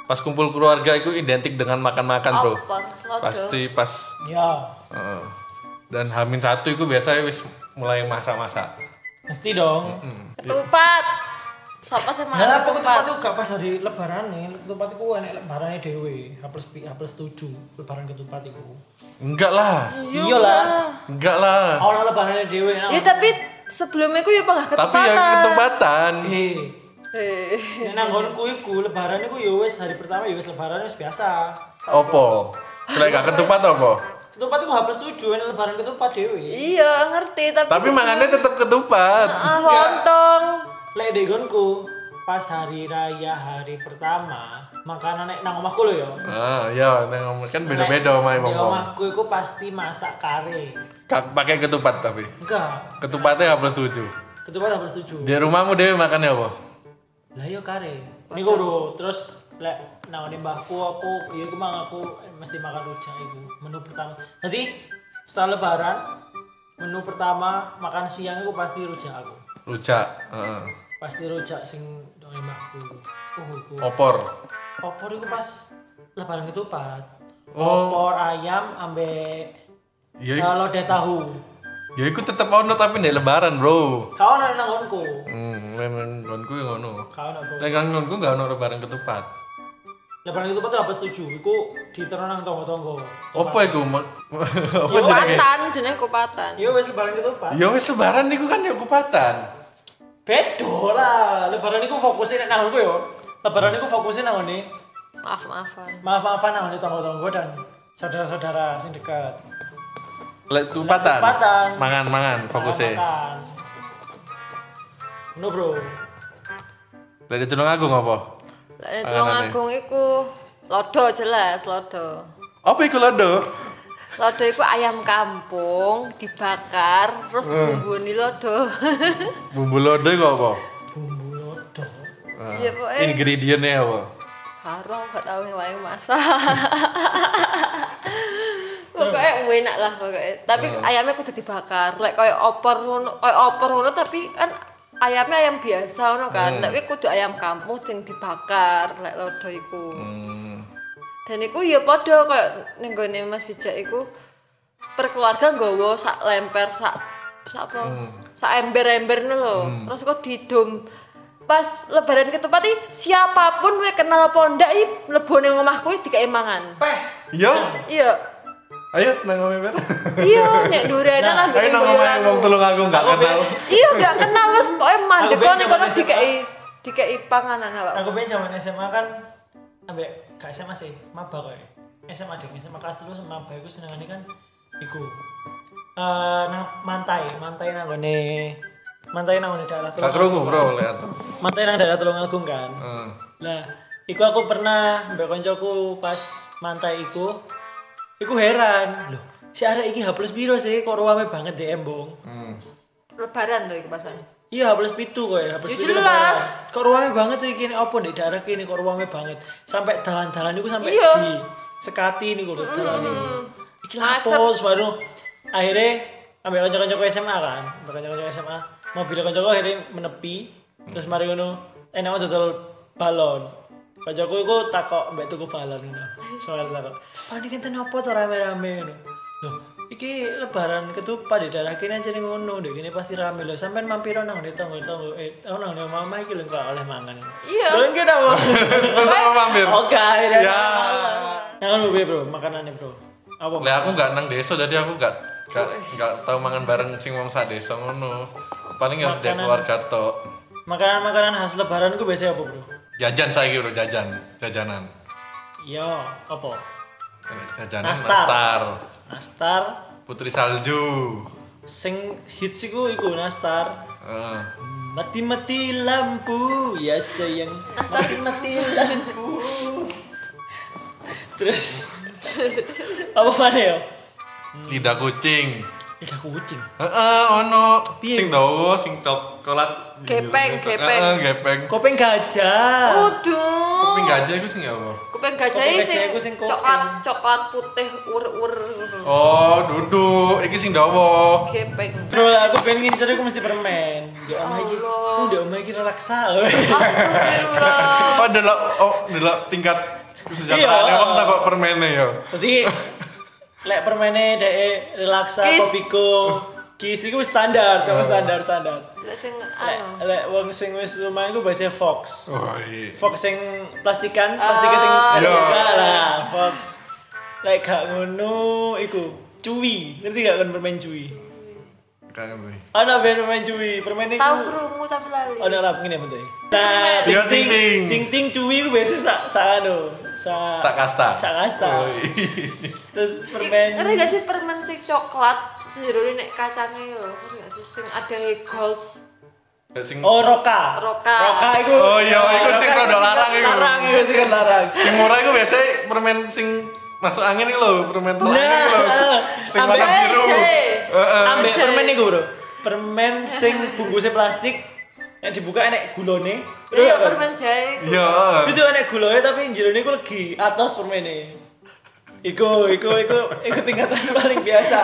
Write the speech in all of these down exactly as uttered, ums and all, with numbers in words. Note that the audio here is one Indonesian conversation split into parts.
Pas kumpul keluarga itu identik dengan makan-makan, Bro. Opor, lodo. Pasti pas Ya, uh, dan Hamin satu itu biasanya wis mulai masak-masak. mesti dong. Hmm. Ketupat. Siapa sih makan Nah, aku ketupat ketupat? itu gak pas hari lebaran nih. Ketupat itu enek lebarane dhewe. H plus H plus tujuh lebaran ketupat itu. Enggak lah. Iya lah. Enggak lah. Ono lebarane dhewe. Ya tapi sebelumnya aku ya pengen ketupatan. Tapi yang ketupatan. Eh, Eh. nek nang nggonku iku lebaran iku ya wis hari pertama ya wis lebaran wis biasa. Opo? Selain gak ketupat apa? Ketupat iku H plus tujuh enek lebaran ketupat dhewe. Iya ngerti tapi. Tapi makannya tetap ketupat. Ah lontong. Lek di nggonku pas hari raya hari pertama makanan nek nang omahku lho ya. Ah, iya, neng kan beda-beda sama Di wong. omahku iku pasti masak kare. Kak pakai ketupat tapi. Enggak, Ketupatnya H plus tujuh. ketupat H plus tujuh. Di rumahmu dewe makannya apa? Lah yo kare. Niku lho, terus lek nang ngene mbahku aku ya iku mang aku mesti makan rujak iku. Menu pertama. Jadi setelah lebaran menu pertama makan siang iku pasti rujak aku. Rujak. Heeh. Pasti rujak sing nang mbahku iku. Oh iku. Opor. Opor iku pas lebaran ketupat. Oh. Opor ayam ambek Ya, kalau lodeh tahu. ya iku tetep ono tapi nek lebaran, Bro. Kau nang nang nggonku. Hmm, men ngonku yang ngono. Kau nang nggonku. Nek nang ngonku gak ono lebaran ketupat. Lebaran ketupat tuh apa setuju? Iku diterus nang tonggo-tonggo. Apa iku? Ma- Apa jenenge? Kupatan, jenenge kupatan. Iya wis lebaran ketupat. Ya wis lebaran niku kan ya kupatan. Bedo lah. Lebaran iku fokusnya nek nang nggonku yo. Lebaran iku fokusnya nang ngene. Maaf-maafan. Maaf-maafan nang ngene tonggo-tonggo dan saudara-saudara sing dekat. Lek tupatan. Tupatan. Mangan-mangan fokusnya. Makan. No bro. Lek di Tulungagung apa? Lek Tulungagung iku lodo jelas lodo. Apa iku lodo? Lodo iku ayam kampung dibakar terus dibumbuni lodo. Bumbu lodo iku apa? Bumbu lodo. Ah, Ya, pokoknya- ingredientnya apa? Karo gak tau wae masak. Pokoknya enak lah pokoknya. Tapi ayamnya kudu dibakar. Lek koyo opor ngono, koyo opor ngono tapi kan ayamnya ayam biasa ngono kan. Lek kuwi kudu ayam kampung sing dibakar lek lodo iku. Hmm. Dan iku ya padha koyo ning gone Mas Bijak iku per keluarga nggawa sak lemper sak sak apa? Sak ember-ember ngono lho. Terus kok didum pas lebaran ketupat iki siapapun kowe kenal apa ndak iki mlebu ning omahku iki dikek mangan. Peh. Iya. Iya. Ayo nang ngombe ber. Iya, nek durenan Nah, ambek Ayo nang ngombe wong Tulungagung gak kenal. Iya, gak kenal wis pokoke mandek Aku kono pengen kono zaman dikeki dikeki panganan awak. Aku pengen zaman S M A kan ambek gak S M A sih, maba kowe. S M A deh, S M A kelas terus maba iku senengane kan iku. Eh nang mantai, mantai nang ngene mantai nang ngene daerah Gak krungu, Bro, lek atu. Mantai nang daerah Tulungagung kan. Heeh. Lah, iku aku pernah mbak koncoku pas mantai iku iku heran, loh, si arek iki H plus piro sih kok ruame banget di embong. Hmm. Lebaran tuh iki pasan. Iya H plus pitu kok ya, H plus Ya pitu jelas. lebaran. Kok ruame banget sih kini opo di daerah kini kok ruame banget. Sampai dalan-dalan iku sampai Iya. di sekati niku lho dalan niku. Iki Macet. lapo suara akhirnya ambil kanca-kanca S M A kan, ambil kanca-kanca S M A. Mobil kanca akhirnya menepi, terus mari ngono enak dodol balon. Kancaku iku takok mbek tuku balon ngono. Soal takok. "Pak niki enten apa to rame-rame ngono?" Loh, iki lebaran ketupat di daerah kene aja ngono, ndek kene pasti rame lho. Sampeyan mampir nang ngene tanggo-tanggo eh nang ngene mama iki lho kok oleh mangan. Iya. Lho iki apa? Terus apa mampir? Oke, akhirnya. Ya. Nah, kan Bro, makanannya, Bro. Apa? Lek aku gak nang desa jadi aku gak gak gak tau mangan bareng sing wong sak desa ngono. Paling ya sedek Makanan. keluarga tok. Makanan-makanan khas lebaran ku biasanya apa, Bro? Jajan saiki, Bro, jajan. Jajanan. Iya, apa? Jajanan Nastar. nastar. Nastar. Putri salju. Sing hits iku iku nastar. Heeh. Mati-mati lampu, ya sayang. Mati-mati lampu. Terus apa mana ya? Lidah kucing. lidah kucing. Heeh, ono Piye? sing dawa, sing coklat. Gepeng, gepeng. Heeh, gepeng. Kopeng gajah. Waduh. Kuping gajah iku sing apa? Kuping gajah Kuping sing gajah iku sing kopeng. coklat coklat putih ur-ur. Oh, duduk. Iki sing dawa. Gepeng. Bro, aku pengen ngincer aku mesti permen. Di omah iki. Allah. Uh, di omah iki relaksa. Astagfirullah. Oh, delok oh, delok tingkat kesejahteraan Iya. emang tak kok permennya ya. Jadi lek permene dhek relaksa Kiss. kopiko. Kis iku wis standar, Oh. terus standar standar. Lek sing Lek anu. lek wong sing wis lumayan ku bahasa Fox. Oh, iya. Fox sing plastikan, plastiknya sing Ah. Iya. enggak lah, Fox. Lek gak ngono iku cuwi. Ngerti gak kan permen cuwi? Kan ngerti. Ana ben permen cuwi, permen iku. Tahu krungu tapi lali. Ana lap ngene bentuke. Nah, Iya, ting ting ting-ting. ting ting cuwi ku biasa sak sak anu, sak Sak kasta. sak kasta. Oh, iya. Terus permen Ngerti gak sih permen sing coklat jerone nek kacangnya yo. Ngerti gak sih sing ada gold. Ya, sing Oh, roka. Roka. Roka iku. Oh, iya, iku sing Roka rada iku larang iku. Larang iku sing larang. sing murah iku biasanya permen sing masuk angin iki lho, permen telur Nah, iki lho. Sing warna ambek- biru. Jay. Heeh. Ambek Jay. permen iku, Bro. Permen sing bungkusnya plastik yang dibuka enek gulone. Iya permen jahe. Iya. Itu enek gulone tapi jerone iku legi atas permene. Iku, iku, iku, iku tingkatan paling biasa.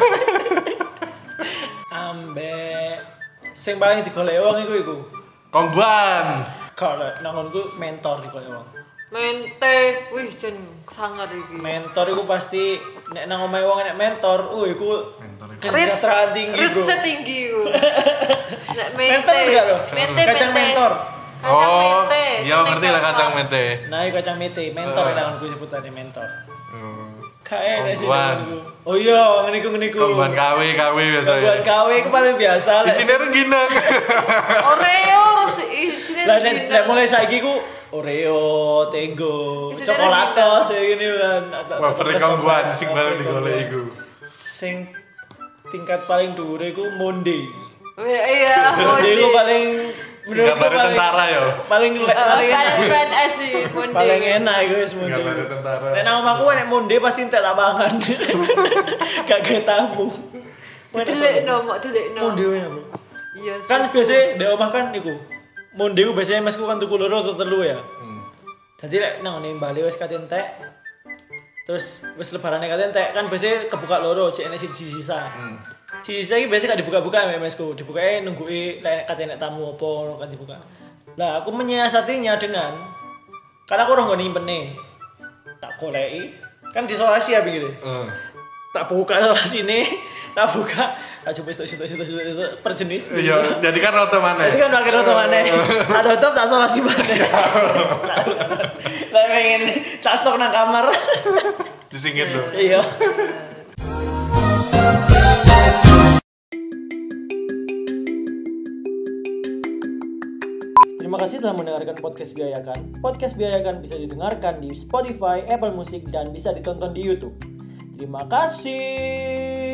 Ambek sing paling digoleki wong iku iku. Kongguan. Kalau nangonku mentor digoleki wong. Mente, wih jen sangat iki. Mentor iku pasti nek nang omahe wong enek mentor, uh iku Mentor iku. kesejahteraan tinggi, Bro. Rich tinggi ku. Nek mente. Mentor enggak lo? Mente, Kacang mente. mentor. Kacang Oh, mente. iya sing ngerti lah coklat. kacang mente. Nah, iku kacang mete, mentor Eh. uh. nangonku sebutannya mentor. Hmm. Kae nek sih Kongguan. nangonku. Oh iya, ngene iku ngene iku. Kongguan K W K W Kongguan biasanya. K W iku paling biasa Di lek. sini rengginang. Oreo si sini. Lah nek nek mulai saiki ku Oreo, Tenggo, Isinya coklatos ya gini kan. Wafer kongguan sing paling digoleki iku. Sing tingkat paling dhuwur iku Monde. Iya, Monde iku Monde. paling menurutku Singkatan paling tentara ya. paling le- Eh, paling kayak enak. P N S sih, Monde. Paling enak iku wis Monde. Singkatan tentara. Nek nang omahku nek Monde pasti entek tak pangan. Gak gawe tamu. Dilekno, mok dilekno. Monde enak, Bro. Iya. Kan susu. biasa di omah kan iku. Monde ku biasanya mesku kan tuku loro atau telu ya. Hmm. Jadi lek nang ngene Bali wis kate entek. Terus wis lebarane kate entek kan biasanya kebuka loro cek enek siji sisa. Hmm. Sisa iki biasanya gak dibuka-buka ya mesku. Dibukae nungguin lek kate enek tamu apa ngono kan dibuka. Lah aku menyiasatinya dengan karena aku ora nggo nimpene. Tak goleki kan disolasi ya pinggire. Hmm. Tak buka isolasi ini, tak buka, tak coba itu itu itu itu per jenis. Iya, jadi kan rata mana? Jadi kan akhirnya tutup mana? Tak tutup tak solasi mana? Lah pengen tak stok nang kamar. Disingkit tuh. Iya. Terima kasih telah mendengarkan podcast Biayakan. Podcast Biayakan bisa didengarkan di Spotify, Apple Music, dan bisa ditonton di YouTube. Terima kasih.